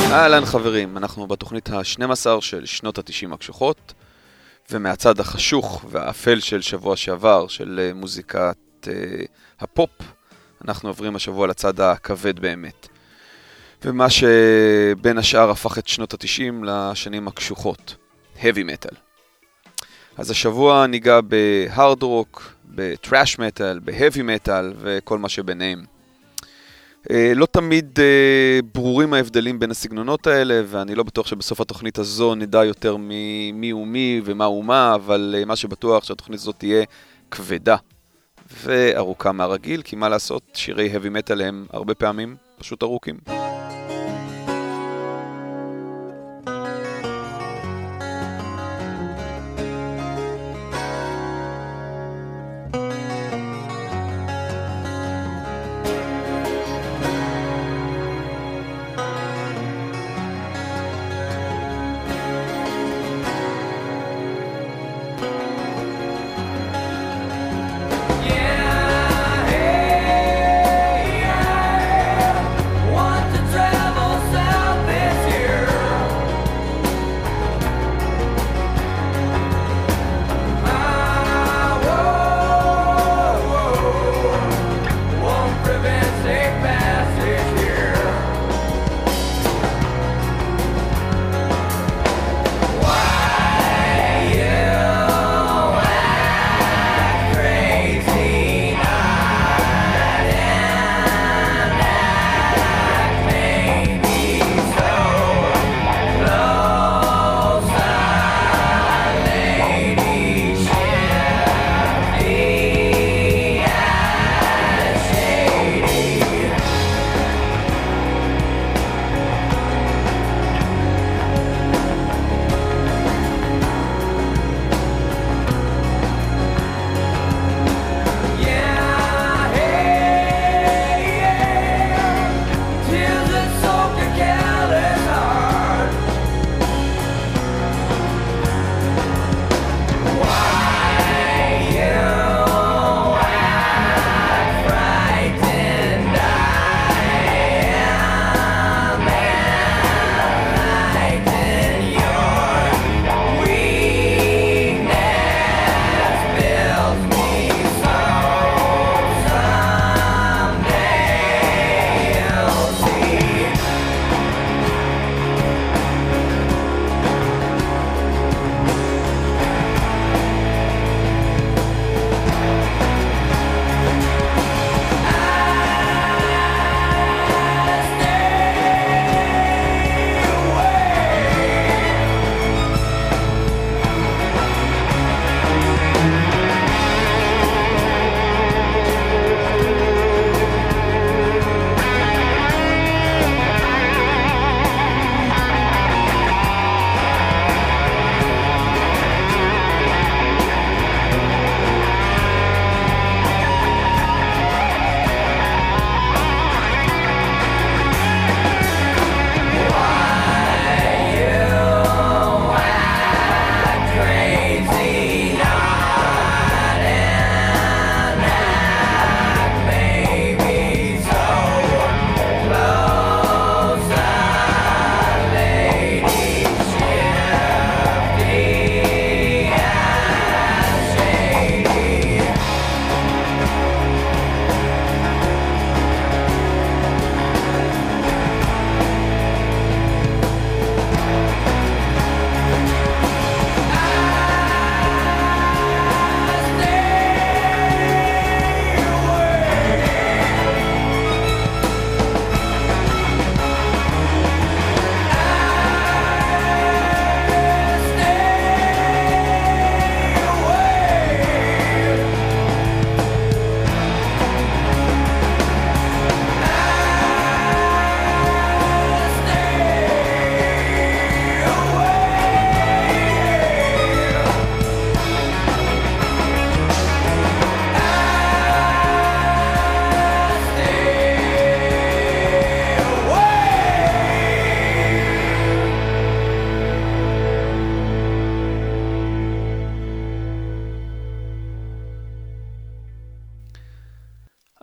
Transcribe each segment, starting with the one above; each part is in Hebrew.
אהלן חברים, אנחנו בתוכנית ה-12 של שנות ה-90 הקשוחות, ומהצד החשוך והאפל של שבוע שעבר, של מוזיקת הפופ, אנחנו עוברים השבוע לצד הכבד באמת. ומה שבין השאר הפך את שנות ה-90 לשנים הקשוחות, heavy metal. אז השבוע ניגע בהארד רוק, בטראש מטל, בהאבי מטל וכל מה שביניהם. לא תמיד ברורים ההבדלים בין הסגנונות האלה, ואני לא בטוח שבסוף התוכנית הזו נדע יותר מי הוא מי ומה הוא מה, אבל מה שבטוח שהתוכנית הזו תהיה כבדה וארוכה מהרגיל, כי מה לעשות, שירי heavy metal הם הרבה פעמים פשוט ארוכים. Want to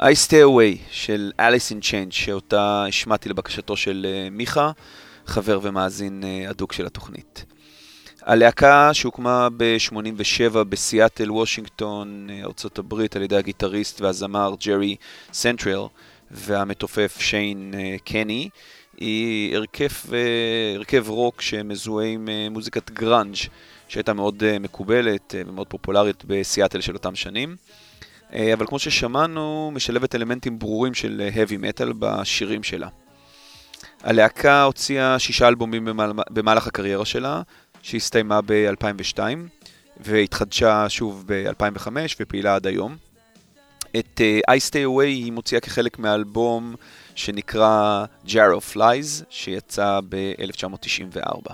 I Stay Away של Alice in Change, שאותה השמעתי לבקשתו של מיכה, חבר ומאזין הדוק של התוכנית. הלהקה שהוקמה ב-87 בסיאטל, וושינגטון, ארצות הברית, על ידי הגיטריסט והזמר ג'רי סנטרל והמתופף שיין קני, היא הרכב רוק שמזוהה עם מוזיקת גראנג' שהייתה מאוד מקובלת ומאוד פופולרית בסיאטל של אותם שנים. אבל כמו ששמענו, משלבת אלמנטים ברורים של heavy metal בשירים שלה. הלהקה הוציאה 6 אלבומים במהלך הקריירה שלה, שהסתיימה ב-2002, והתחדשה שוב ב-2005 ופעילה עד היום. את I Stay Away היא מוציאה כחלק מאלבום שנקרא Jar of Lies, שיצא ב-1994.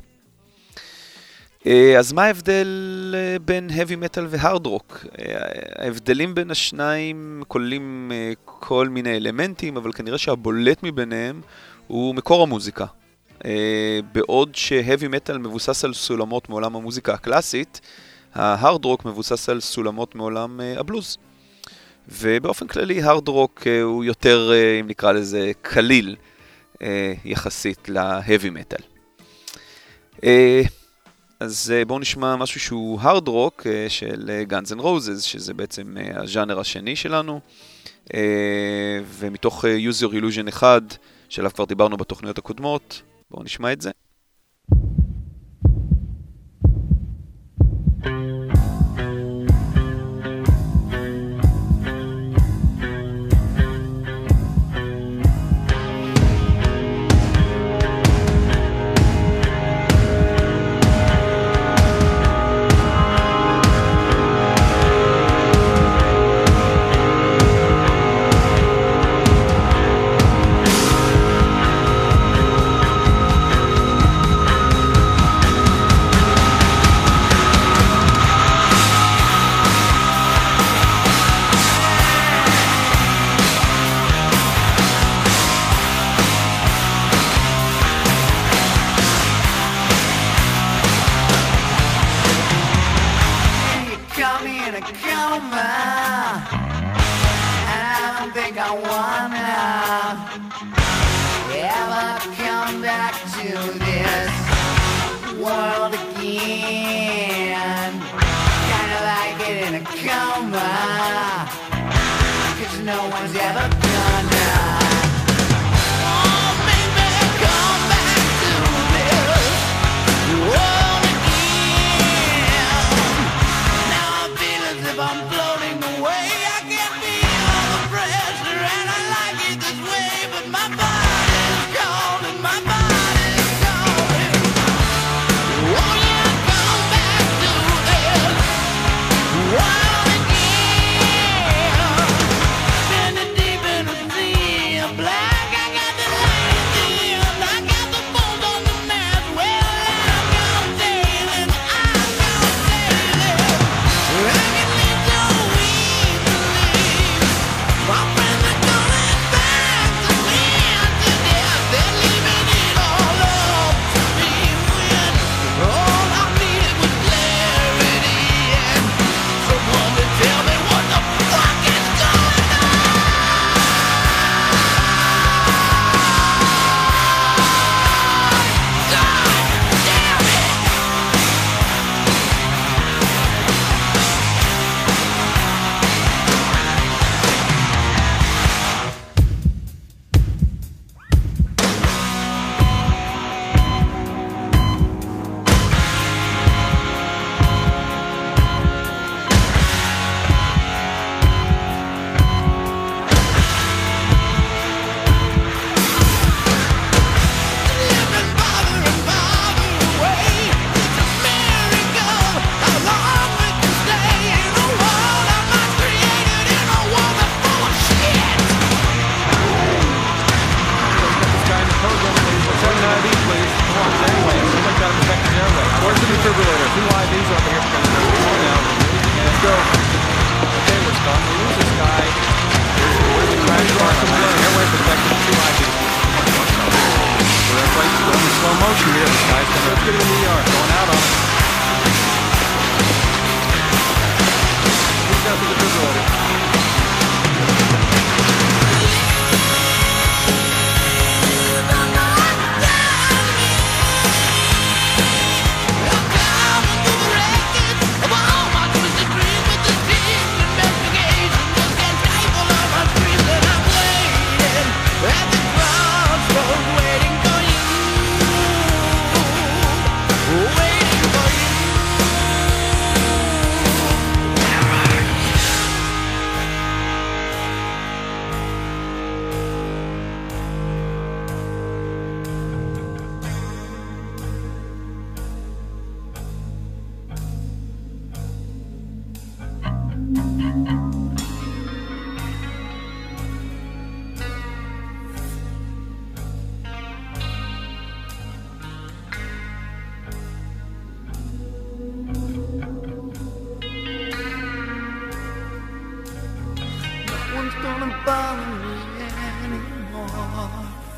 אז מה ההבדל בין heavy metal והארד רוק? ההבדלים בין השניים כוללים כל מיני אלמנטים, אבל כנראה שהבולט מביניהם הוא מקור המוזיקה. בעוד שהאבי מטל מבוסס על סולמות מעולם המוזיקה הקלאסית, ההארד רוק מבוסס על סולמות מעולם הבלוז. ובאופן כללי הארד רוק הוא יותר, אם נקרא לזה, קליל יחסית להאבי מטל. אז בואו נשמע משהו שהוא הארד רוק של Guns N' Roses, שזה בעצם הז'אנר השני שלנו, ומתוך Use Your Illusion 1, שעליו כבר דיברנו בתוכניות הקודמות. בואו נשמע את זה. bother me anymore.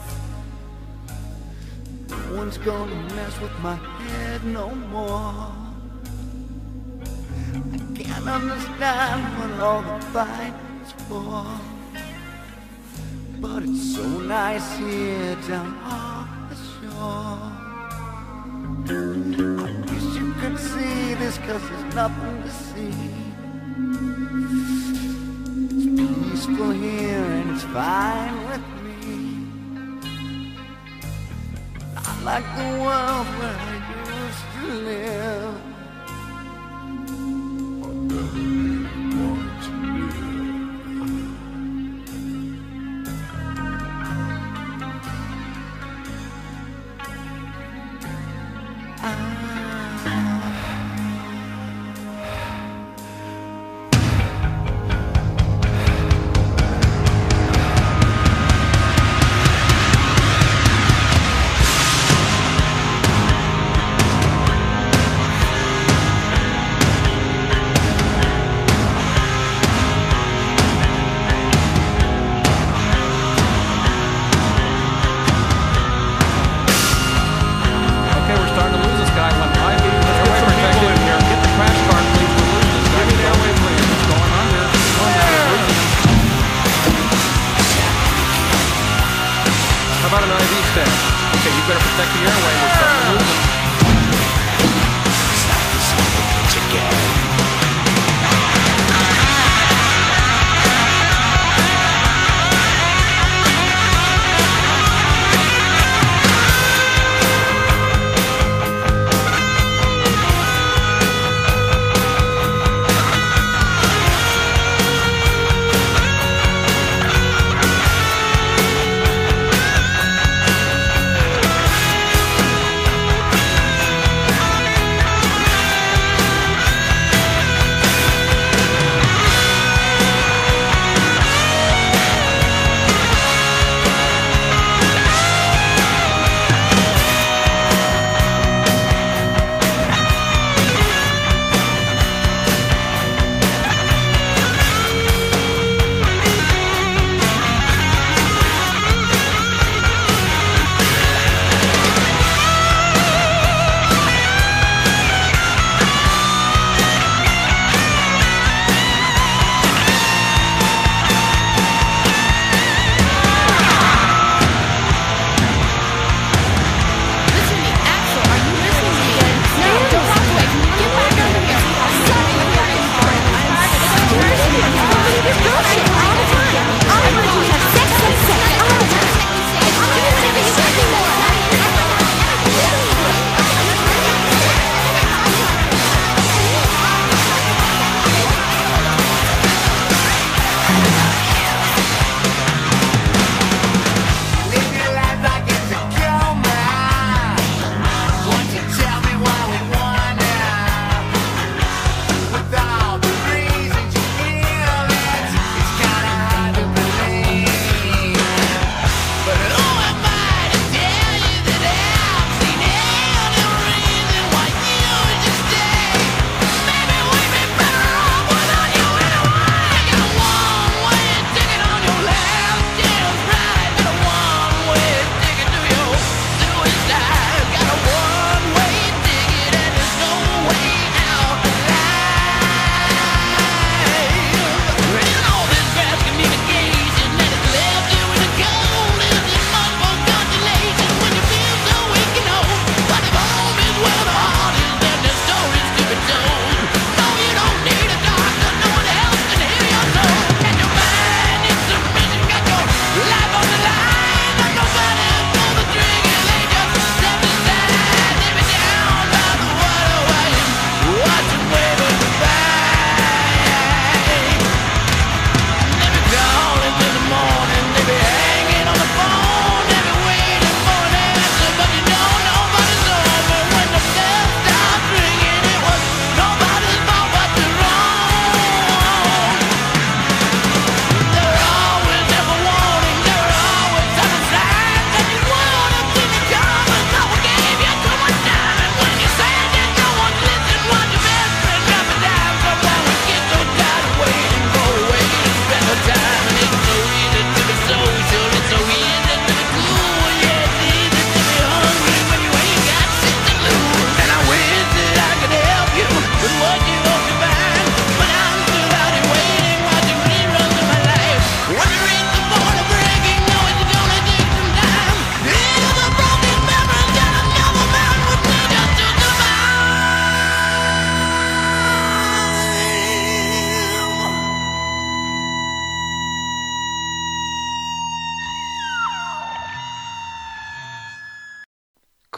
No one's gonna mess with my head no more. I can't understand what all the fight is for, but it's so nice here down off the shore. I wish you could see this, 'cause there's nothing to see. It's peaceful here and it's fine with me. Not like the world where I used to live.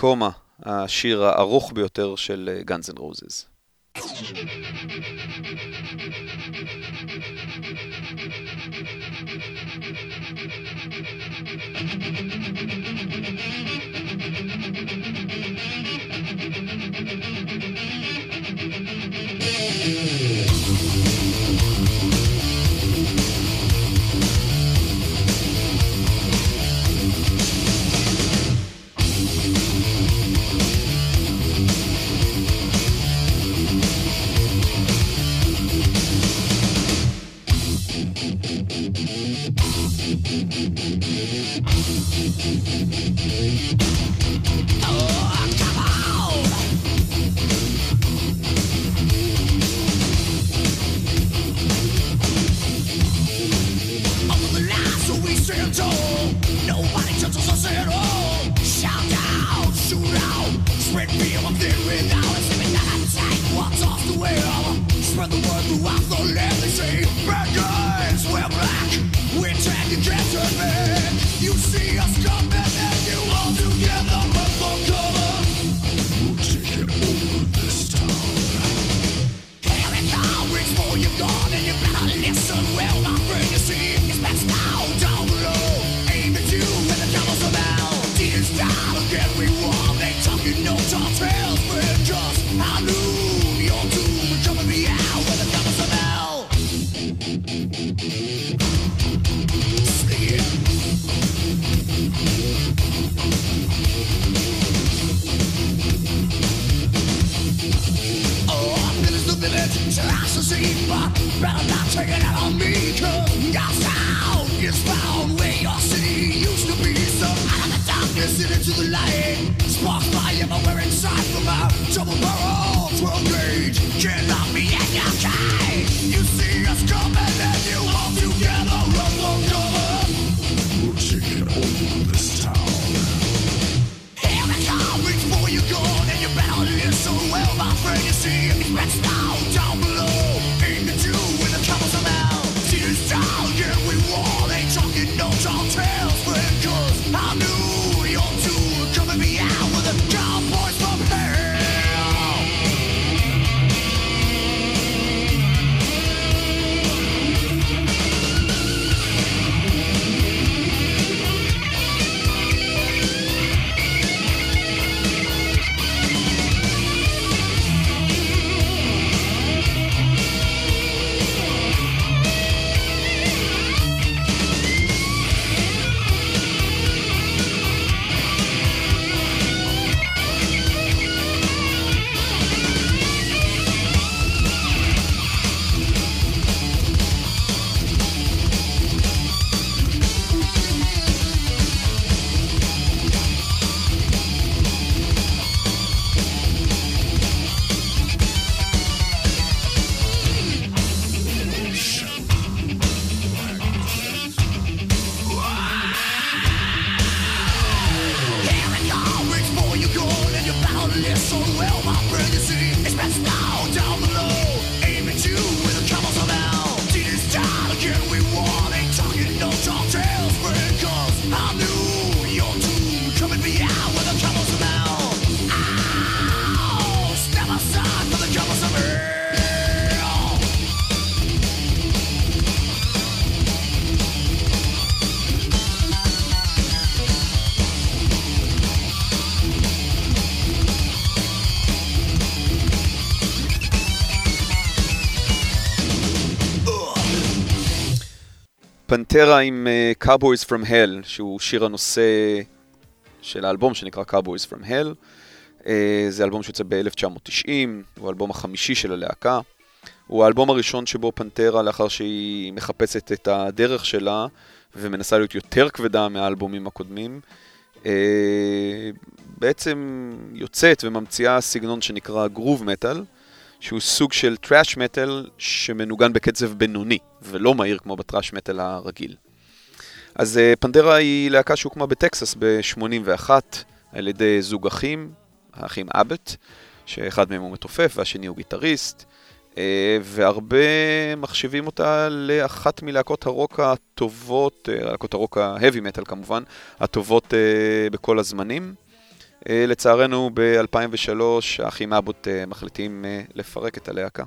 קומה, השיר הארוך ביותר של Guns N' Roses. פנטרה עם Cowboys from Hell, שהוא שיר הנושא של האלבום שנקרא Cowboys from Hell. זה אלבום שיוצא ב-1990, הוא האלבום החמישי של הלהקה. הוא האלבום הראשון שבו פנטרה, לאחר שהיא מחפשת את הדרך שלה ומנסה להיות יותר כבדה מהאלבומים הקודמים, בעצם יוצאת וממציאה סגנון שנקרא גרוב מטל, שהוא סוג של טראש מטל שמנוגן בקצב בינוני, ולא מהיר כמו בטראש מטל הרגיל. אז פנטרה היא להקה שהוקמה בטקסס ב-81 על ידי זוג אחים, האחים אבט, שאחד מהם הוא מתופף והשני הוא גיטריסט, והרבה מחשיבים אותה לאחת מלהקות הרוק הטובות, להקות הרוק ההבי מטל כמובן, הטובות בכל הזמנים. לצערנו ב-2003 האחים אבוט מחליטים לפרק את הלהקה.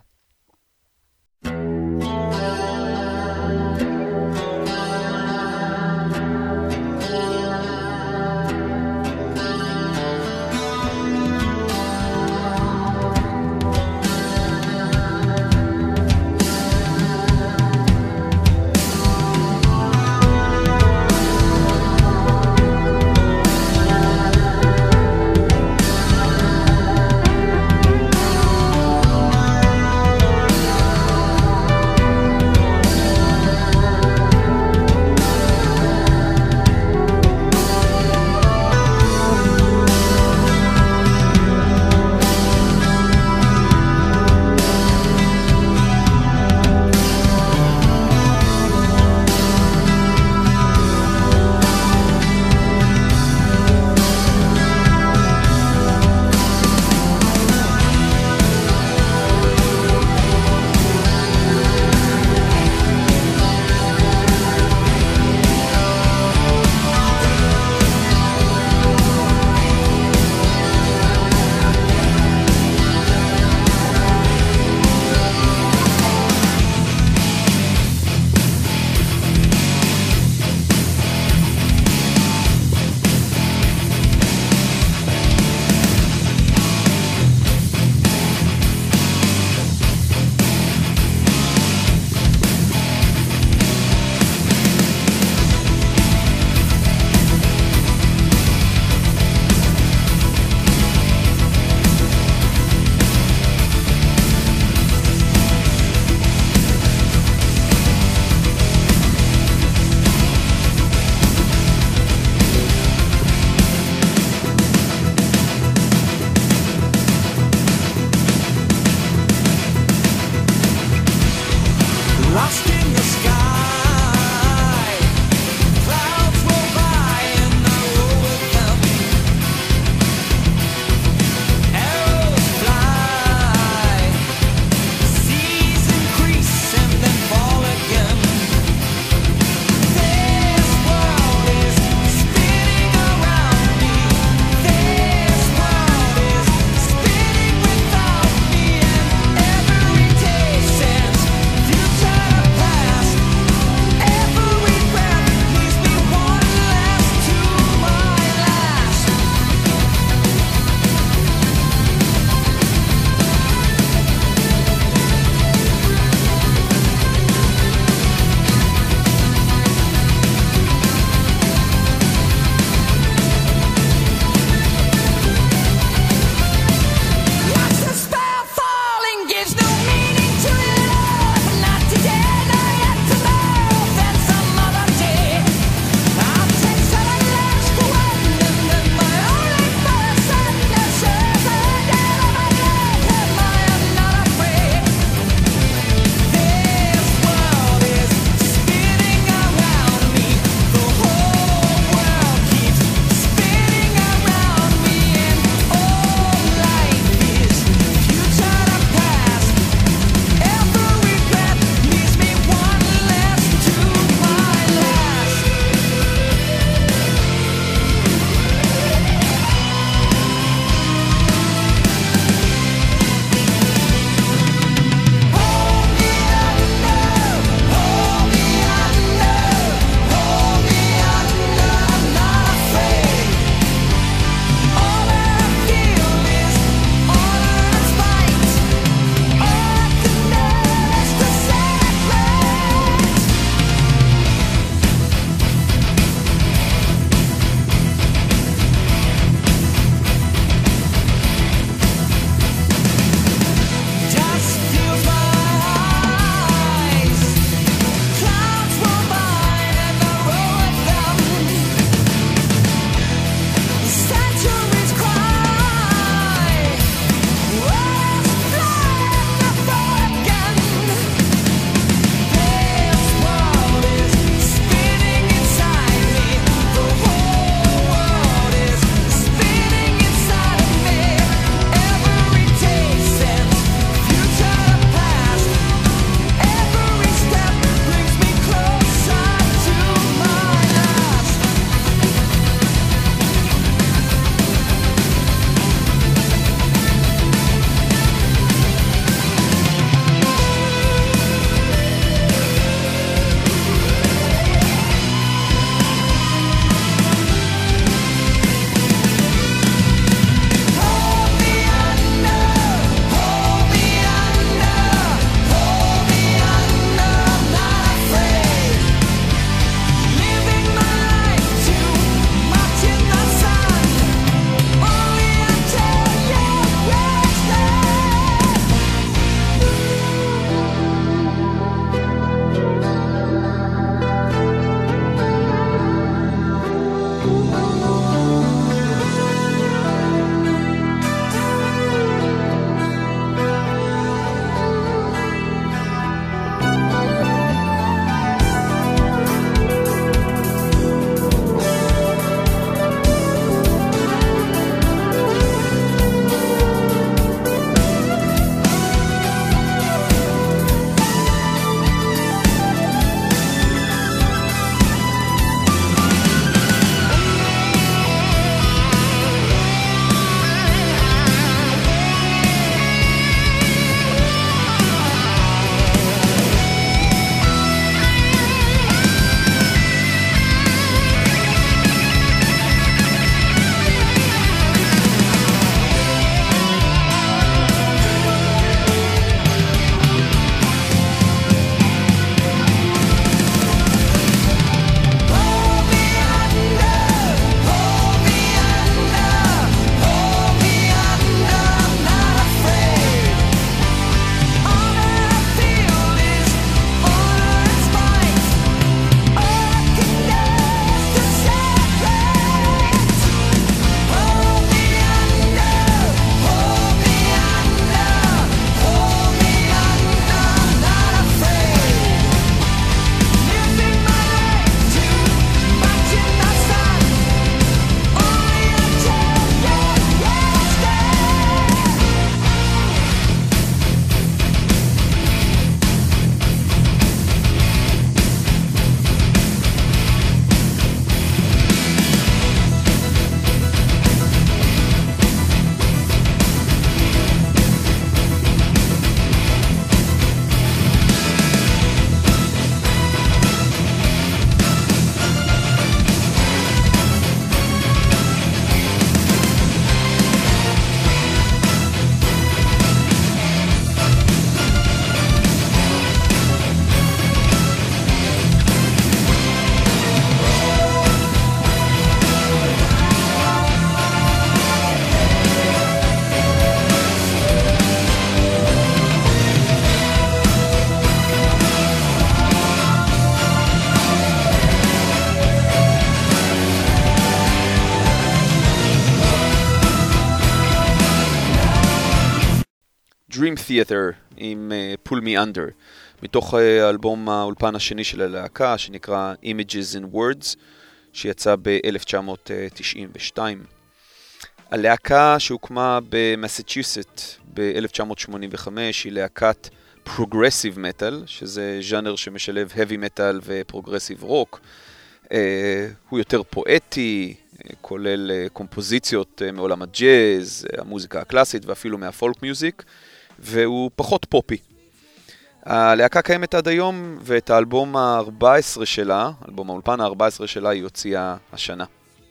Dream Theater עם Pull Me Under, מתוך האלבום האולפן השני של הלהקה, שנקרא Images in Words, שיצא ב-1992. הלהקה שהוקמה במסצ'וסט ב-1985 היא להקת Progressive Metal, שזה ז'אנר שמשלב Heavy Metal ו-Progressive Rock. הוא יותר פואטי, כולל קומפוזיציות מעולם הג'אז, המוזיקה הקלאסית ואפילו מהפולק מיוזיק, והוא פחות פופי. הלהקה קיימת עד היום, ואת האלבום ה-14 שלה, אלבום האולפן ה-14 שלה, היא הוציאה השנה.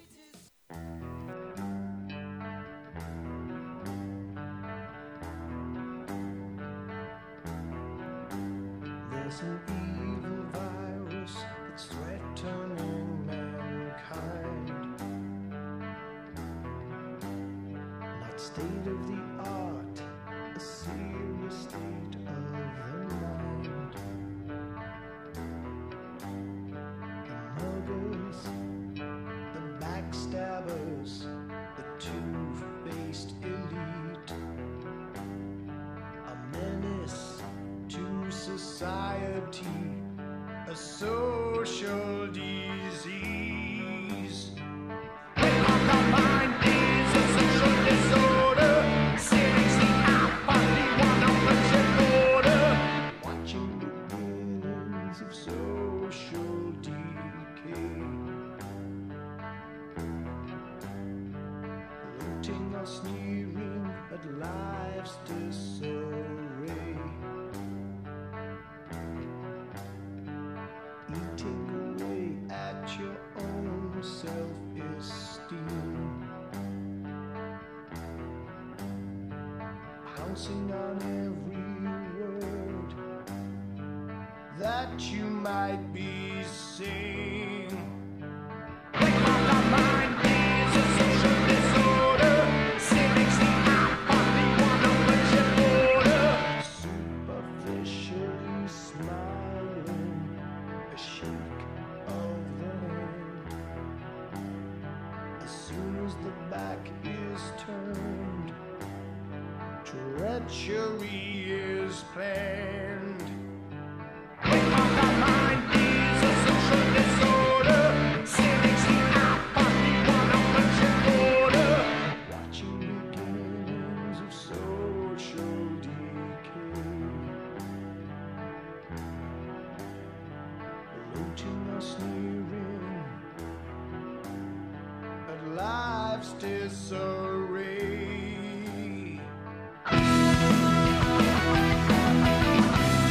On every word that you might be saying. My mind is a social disorder. Cynics the only one on which you border. Superficially smiling, a shake of the hand. As soon as the back is turned, treachery is planned. My mind is a social disorder. Cynics the only one on which you border. Watching beginnings of social decay. Looting or sneering at life's disarray.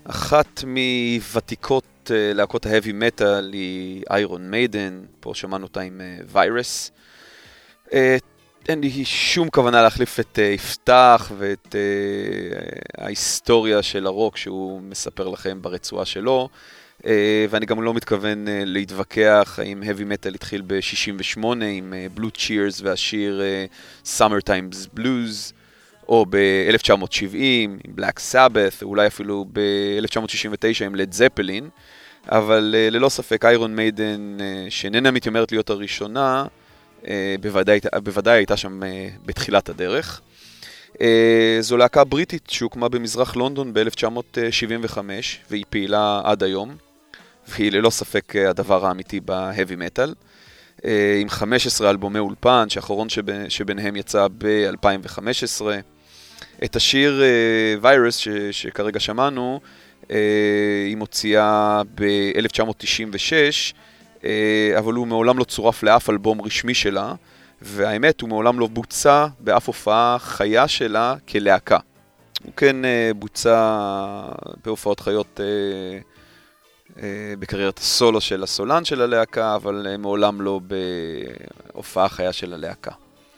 אחת מוותיקות להקות ההאבי מטל היא איירון מיידן, פה שמענו אותה עם ויירס. אין לי שום כוונה להחליף את יפתח ואת ההיסטוריה של הרוק שהוא מספר לכם ברצועה שלו, ואני גם לא מתכוון להתווכח האם heavy metal התחיל ב-68 עם Blue Cheers והשיר Summertime's Blues, או ב-1970 עם Black Sabbath, אולי אפילו ב-1969 עם Led Zeppelin, אבל ללא ספק איירון מיידן, שאיננה מתיימרת להיות הראשונה, בוודאי הייתה שם בתחילת הדרך. זו להקה בריטית שהוקמה במזרח לונדון ב-1975, והיא פעילה עד היום, והיא ללא ספק הדבר האמיתי בהאבי מטל, עם 15 אלבומי אולפן, שהאחרון שביניהם יצא ב-2015. את השיר ויירס שכרגע שמענו, היא מוציאה ב-1996, אבל הוא מעולם לא צורף לאף אלבום רשמי שלה, והאמת הוא מעולם לא בוצע באף הופעה חיה שלה כלהקה. הוא כן בוצע בהופעות חיות בקריירת הסולו של הסולן של הלהקה, אבל מעולם לא בהופעה חיה של הלהקה.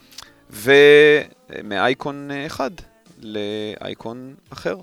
ומאייקון אחד לאייקון אחר.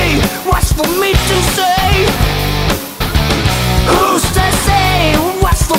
Who's to say what's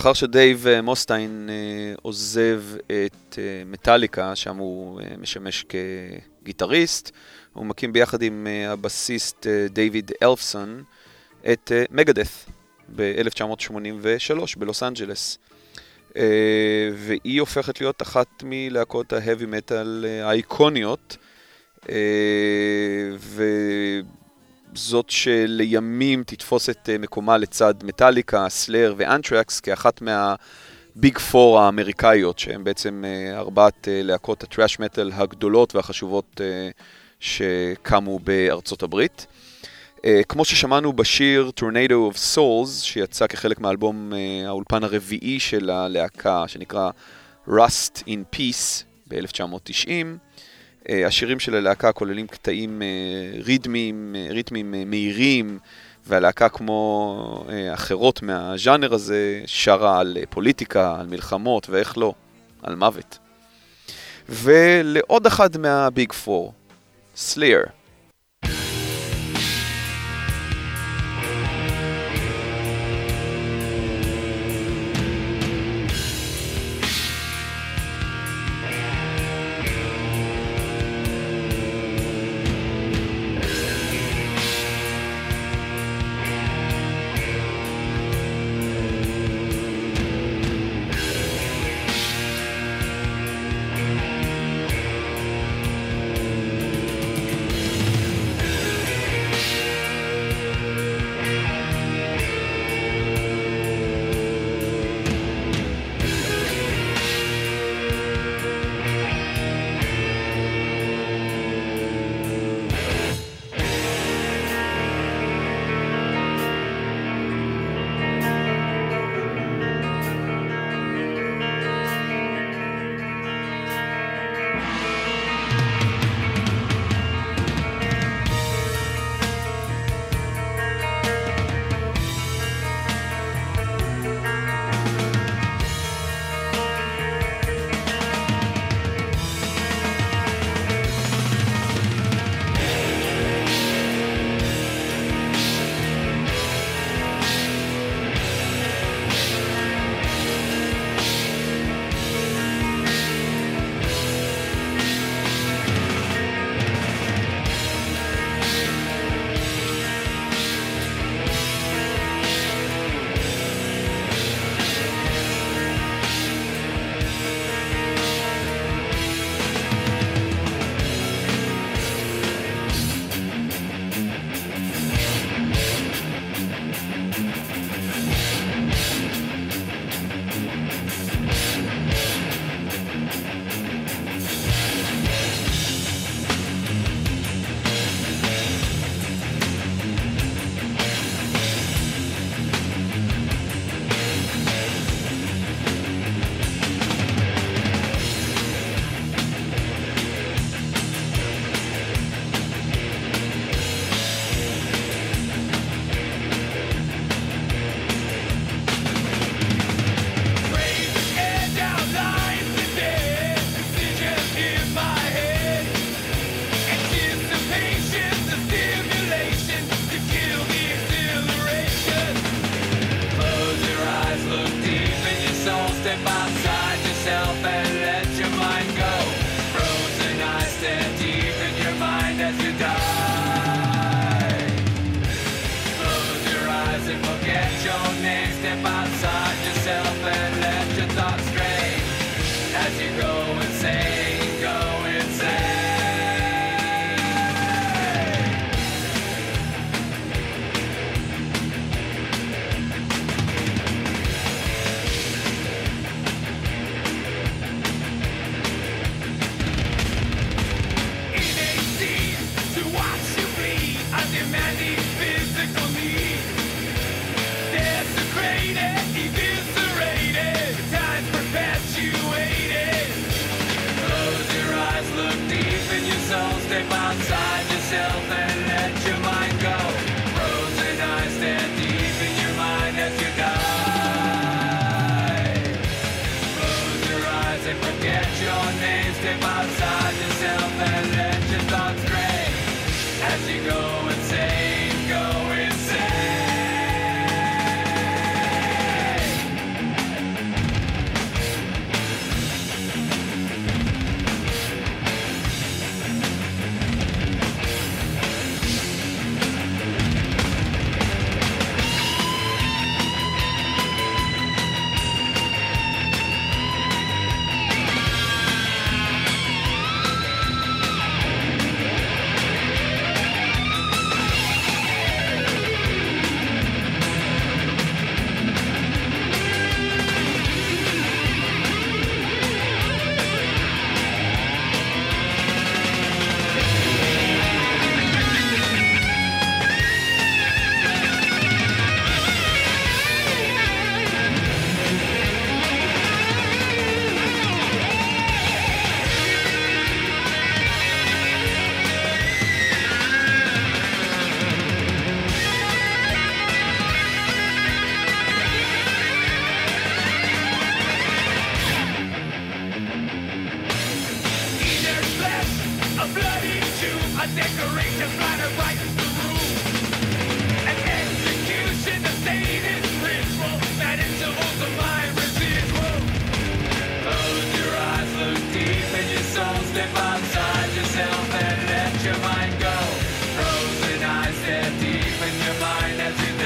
לאחר שדייב מוסטיין עוזב את מטאליקה, שם הוא משמש כגיטריסט, הוא מקים ביחד עם הבסיסט דיוויד אלפסון את מגדeth ב-1983 בלוס אנג'לס. והיא הופכת להיות אחת מלהקות ההאבי מטל האיקוניות, וזאת שלימים תתפוס את מקומה לצד מטאליקה, סלאר ואנטרקס כאחת מהביג פור האמריקאיות, שהן בעצם ארבעת להקות הטראש מטל הגדולות והחשובות שקמו בארצות הברית. כמו ששמענו בשיר Tornado of Souls, שיצא כחלק מהאלבום האולפן הרביעי של הלהקה, שנקרא Rust in Peace ב-1990, השירים של הלהקה כוללים קטעים ריתמים מהירים, והלהקה כמו אחרות מהז'אנר הזה שרה על פוליטיקה, על מלחמות ואיך לא, על מוות. ולעוד אחד מהביג פור, סלייר. Go insane. bloody Jew, a decoration flying right in the room. An execution, a sadist ritual, that intervals of my residual. Close your eyes, look deep in your soul, step outside yourself and let your mind go. Frozen eyes stare deep in your mind as you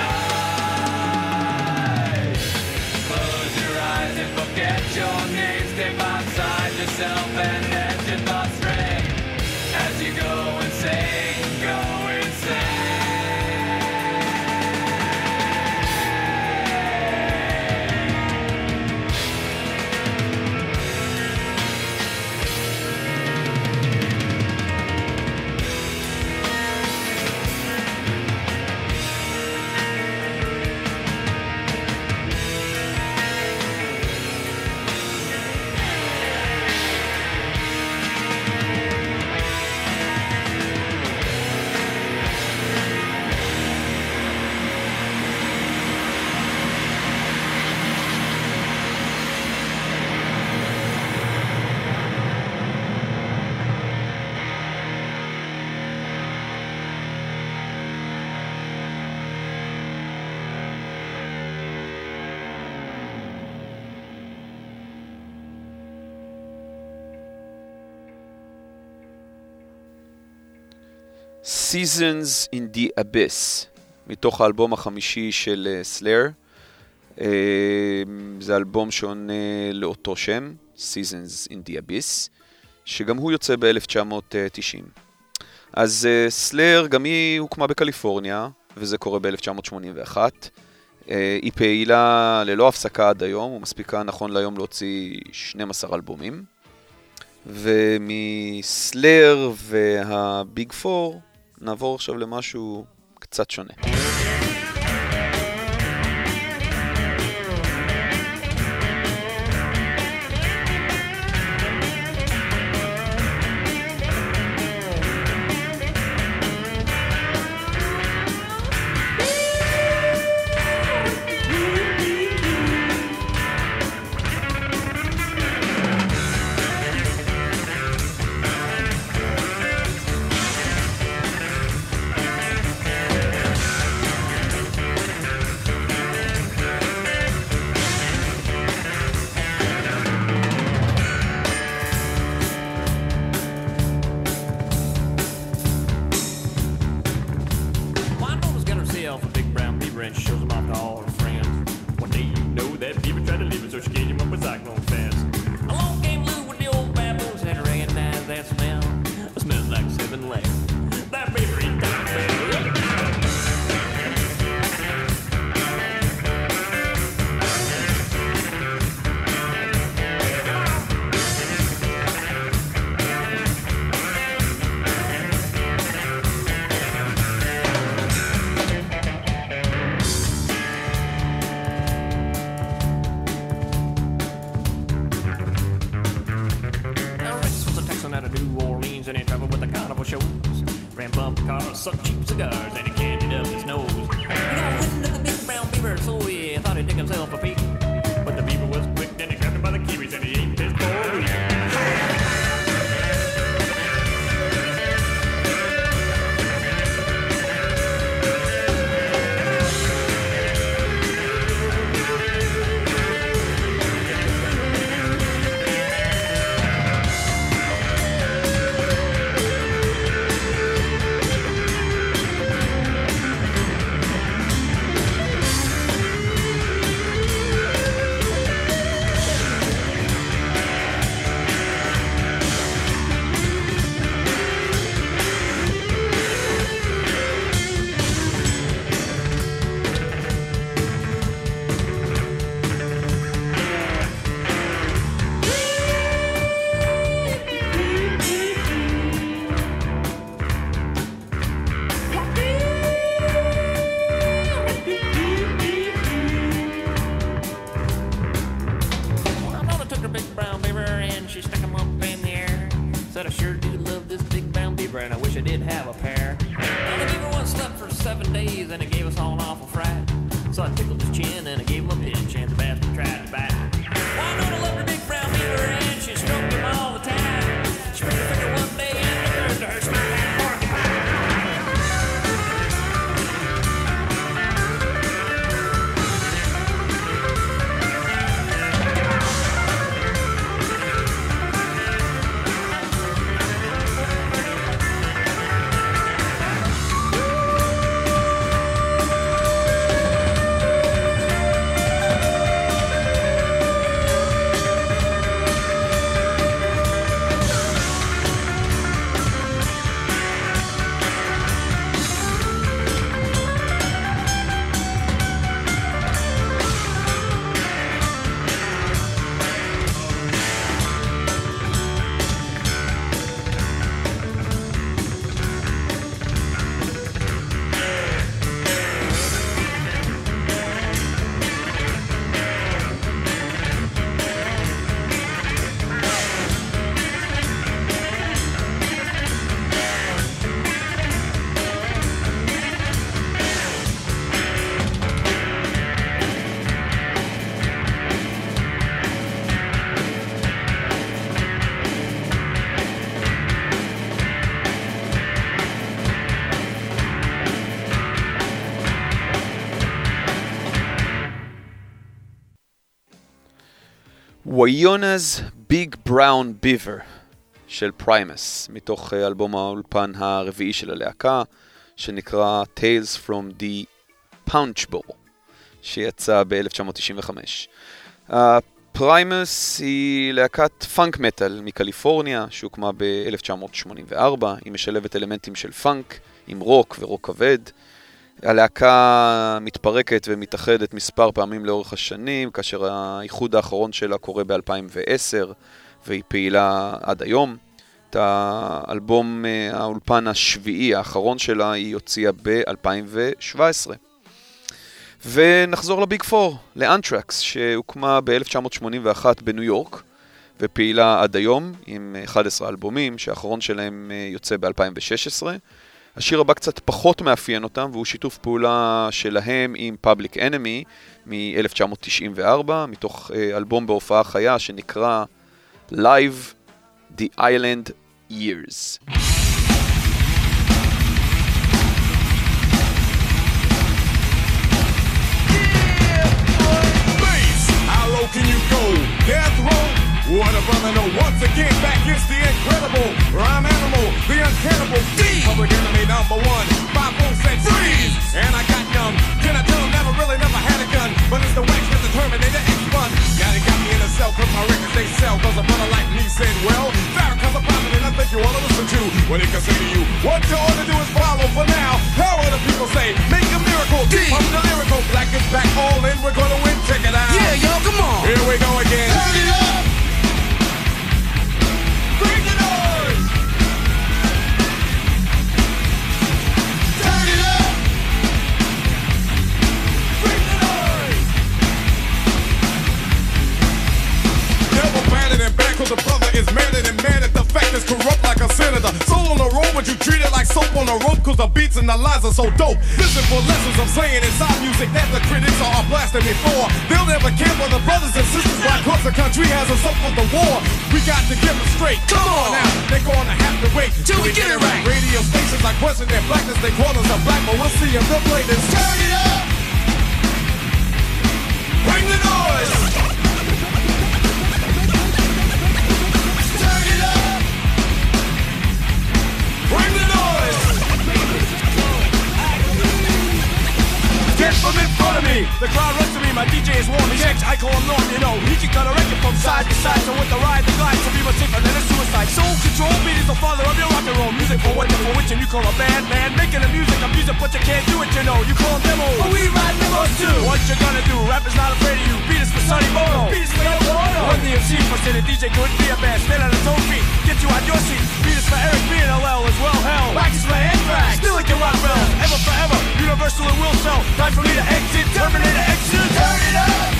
die. Close your eyes and forget your name, step outside yourself and let your thoughts stray. As you go insane, go insane. Seasons in the Abyss, מתוך האלבום החמישי של סלאר. זה אלבום שעונה לאותו שם, Seasons in the Abyss, שגם הוא יוצא ב-1990. אז סלאר גם היא הוקמה בקליפורניה, וזה קורה ב-1981. היא פעילה ללא הפסקה עד היום, ומספיקה נכון להיום להוציא 12 אלבומים. ומסלאר והביג פור נעבור עכשיו למשהו קצת שונה. וויונאז ביג בראון ביבר של פריימס, מתוך אלבום האולפן הרביעי של הלהקה, שנקרא Tales from the Punch Bowl, שיצא ב-1995. פריימס היא להקת פאנק מטל מקליפורניה, שהוקמה ב-1984, היא משלבת אלמנטים של פאנק עם רוק ורוק כבד. הלהקה מתפרקת ומתאחדת מספר פעמים לאורך השנים, כאשר האיחוד האחרון שלה קורה ב-2010, והיא פעילה עד היום. את האלבום האולפן השביעי האחרון שלה היא הוציאה ב-2017. ונחזור לביג פור, לאנטרקס, שהוקמה ב-1981 בניו יורק, ופעילה עד היום עם 11 אלבומים, שהאחרון שלהם יוצא ב-2016. השיר הבא קצת פחות מאפיין אותם, והוא שיתוף פעולה שלהם עם Public Enemy מ-1994, מתוך אלבום בהופעה חיה שנקרא Live The Island Years. Can you go? Death row? What a brother, no. Once again, back is the incredible rhyme animal, the uncannibal D. Public Enemy #1. 5-4 said freeze, and I got numb. Can I tell him never had a gun, but it's the wax that's the Terminator X1. Now they got me in a cell, cause my records they sell, cause a brother like me said, well, Farrakhan's a prophet and I think you ought to listen to what he can say to you. What you ought to do is follow for now. How will the people say? Make a miracle. I'm the lyrical. Black is back, all in. We're gonna win. Check it out. Yeah, y'all, come on. Here we go again. Turn it up. Bring the noise. Turn it up. Bring the noise. Never batted and back, cause the brother is madder than mad at the fact is corrupt like a senator. Soul on the road, but you treat it like soap on a rope, cause the beats and the lines are so dope. Listen for lessons I'm saying inside music that the critics are blasting me for. They'll never care for the brothers and sisters why across the country has us up for the war. We got to get them straight. Come on now, they're gonna have to wait till we get it right. Radio stations like question their blackness, they call us a black, but we'll see if they'll play this. Turn it up! Bring the noise! Turn it up! Bring the noise! Get from in front of me! The crowd runs to me, my DJ is warm, he's X, I call him Norm, you know. He can cut a record from side to side, so with the ride, the glide, to be much safer than a suicide. Soul control, beat is the father of your rock and roll. Music for what you're for which, and you call a band, man. Making the music, I'm music, but you can't do it, you know. You call them demos, but we ride demos too. What you gonna do? Rap is not afraid of you. Beat is for Sonny Bono. Beat is for El Bono. Run the MC for the DJ couldn't be a band. Stand on his own feet, get you out your seat. Beat is for Eric B and LL as well, hell. Wax is for Anthrax, still like your rock bells. Ever forever, universal and will sell. Time for me to exit, Terminator exit. Turn it up!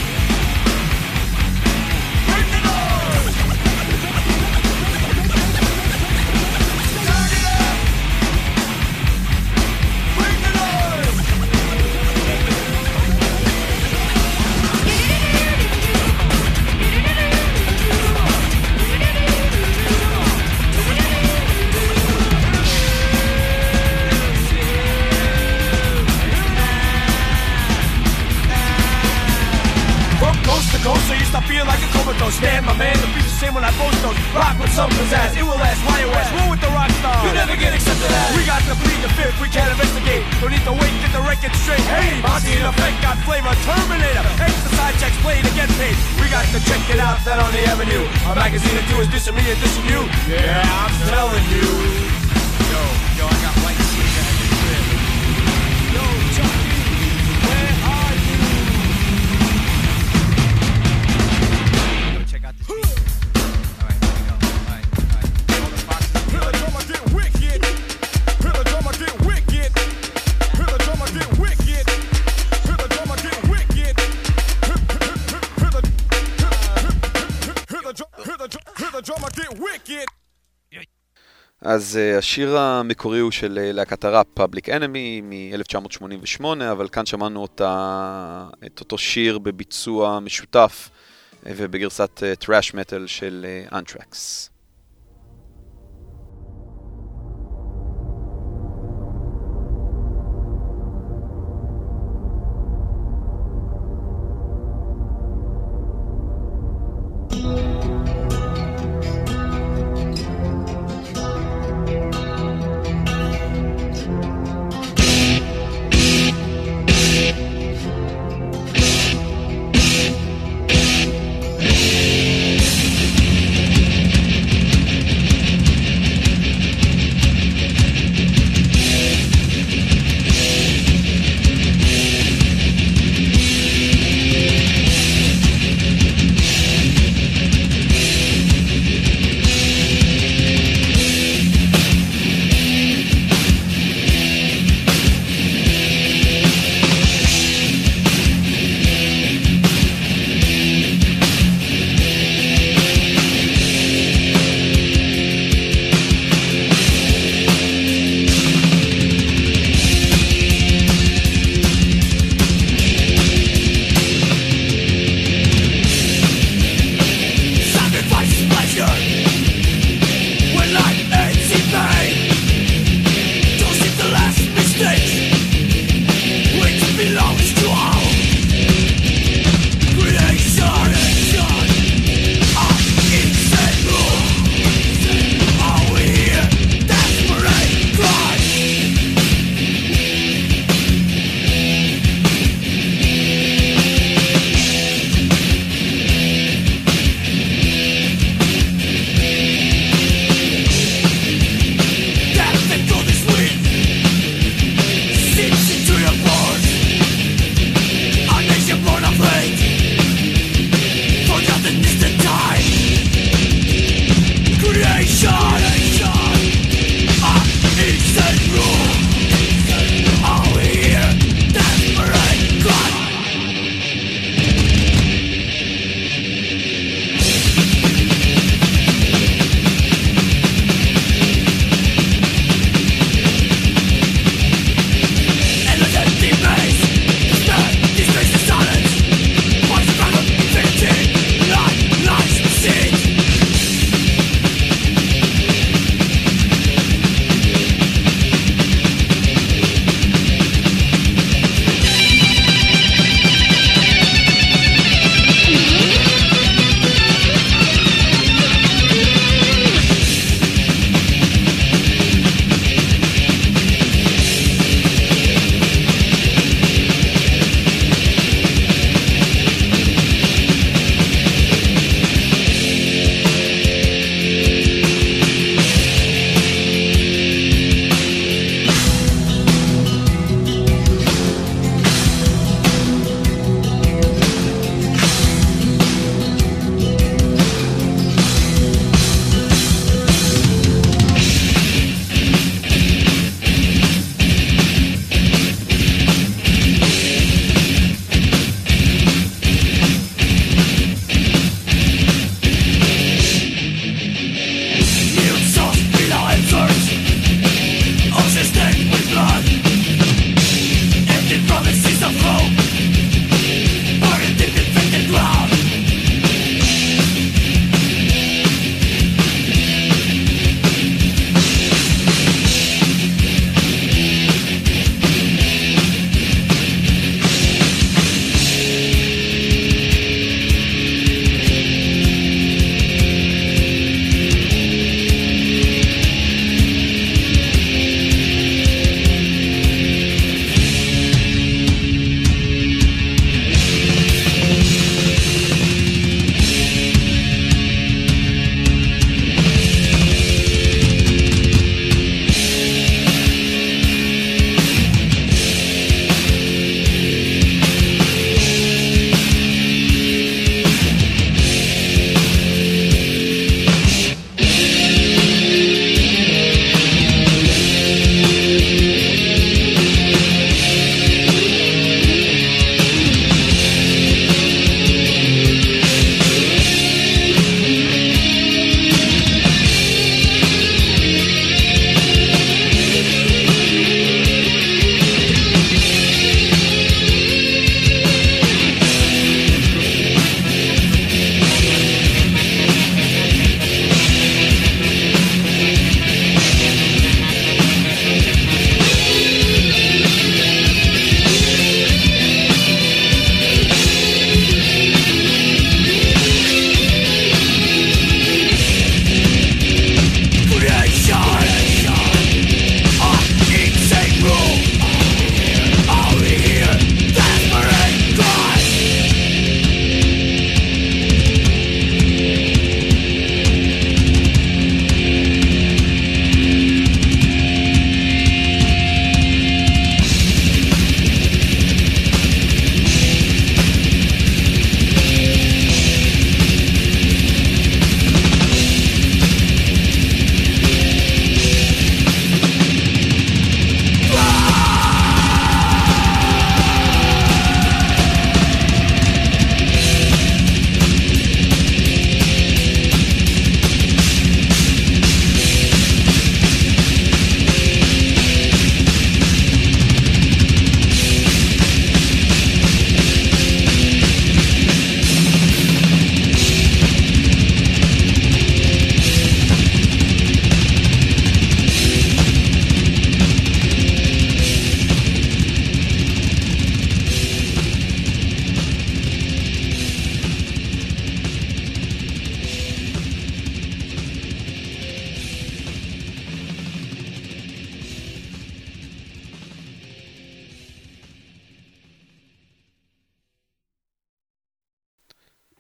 Bring the noise! Turn it up! Bring the noise! Coast to coast, so you stop feeling like a comatose. Stand, my man, the beat's the same when I post those. Rock with some pizzazz, it will last, why you ask? Roll with the rock star, you never get accepted as. We got to plead the fifth, we can't investigate. Don't need to wait, get the record straight. Hey, Monty in effect, got flavor, Terminator. Extra side checks, play to get paid. We got to check it out, that on the avenue. Our magazine to do is dissing me and dissing you. Yeah, I'm telling you. Yo, I got white shit at the crib. Yo, Chucky, where are you? אז השיר המקורי הוא של להקת הראפ Public Enemy מ-1988, אבל כאן שמענו את אותו שיר בביצוע משותף ובגרסת טראש מטל של אנטרקס.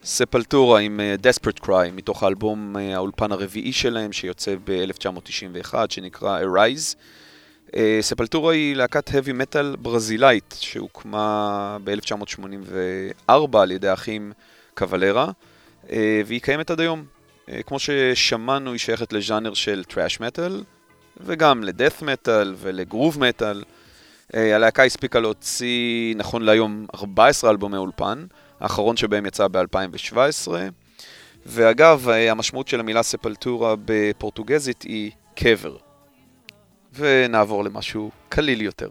ספלטורה עם Desperate Cry, מתוך האלבום האולפן הרביעי שלהם, שיוצא ב-1991, שנקרא Arise. ספלטורה היא להקת heavy metal ברזילאית, שהוקמה ב-1984 על ידי האחים קבלרה, והיא קיימת עד היום. כמו ששמענו, היא שייכת לז'אנר של טראש מטל, וגם לדאת' מטל ולגרוב מטל. הלהקה הספיקה להוציא נכון להיום 14 אלבומי אולפן, האחרון שבהם יצא ב-2017. ואגב, המשמעות של המילה ספלטורה בפורטוגזית היא קבר. ונעבור למשהו קליל יותר.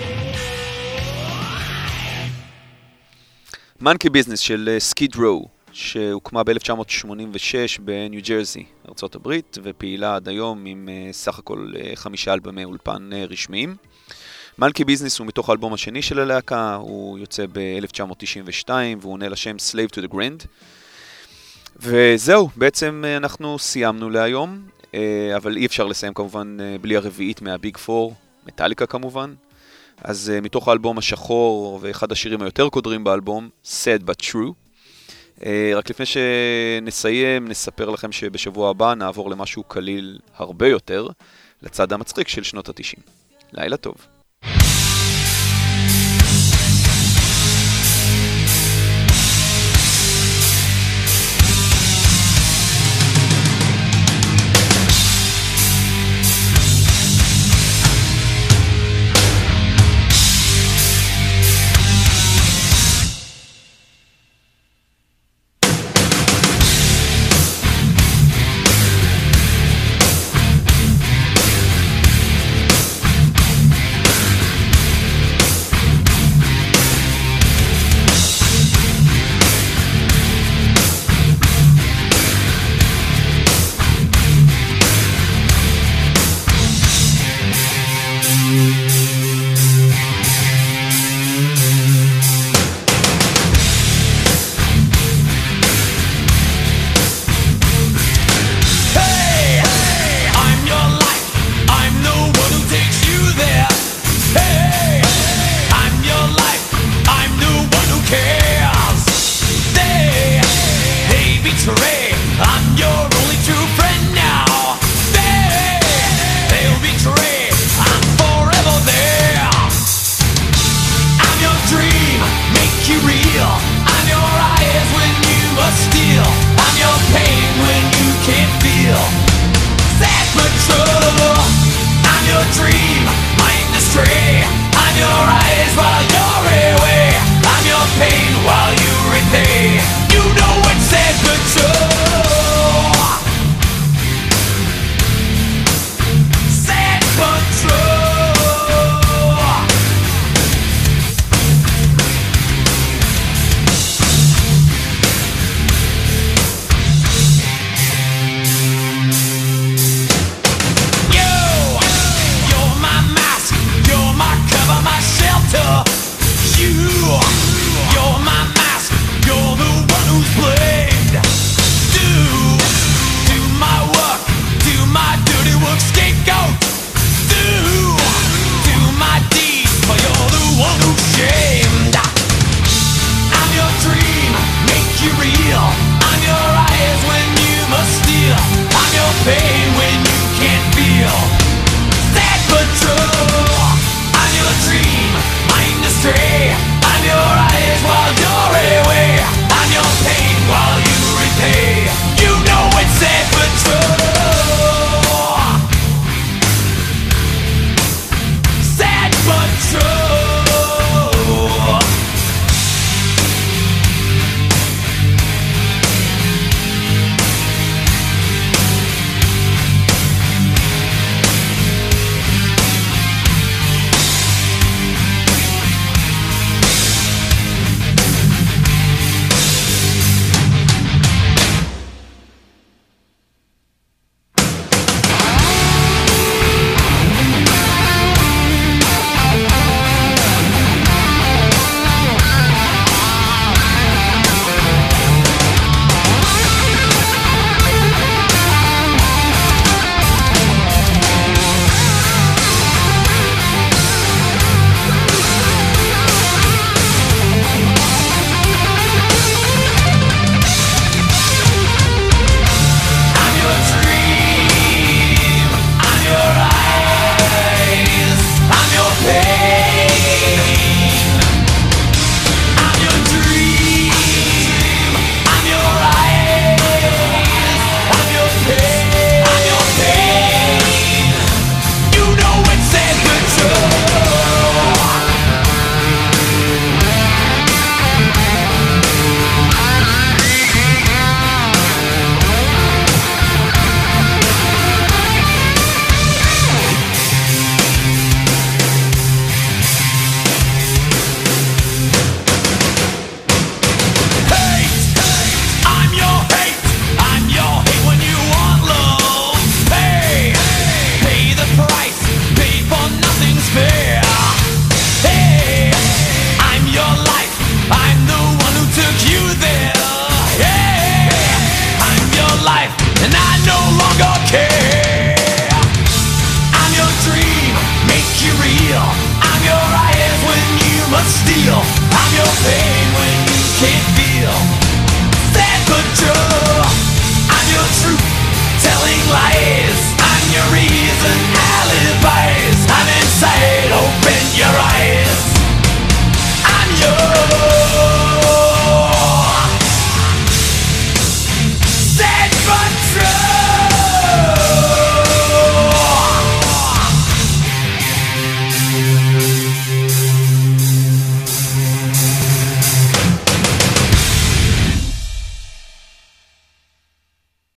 Monkey Business של סקיד רו, שהוקמה ב-1986 בניו ג'רזי, ארצות הברית, ופעילה עד היום עם סך הכל 5 אלבומי אולפן רשמיים. מלכי ביזנס הוא מתוך האלבום השני של הלהקה, הוא יוצא ב-1992 והוא עונה לשם Slave to the Grand. וזהו, בעצם אנחנו סיימנו להיום, אבל אי אפשר לסיים כמובן בלי הרביעית מהביג פור, מטאליקה כמובן. אז מתוך האלבום השחור ואחד השירים היותר קודרים באלבום, Sad But True. רק לפני שנסיים, נספר לכם שבשבוע הבא נעבור למשהו קליל הרבה יותר, לצד המצחיק של שנות ה-90. לילה טוב.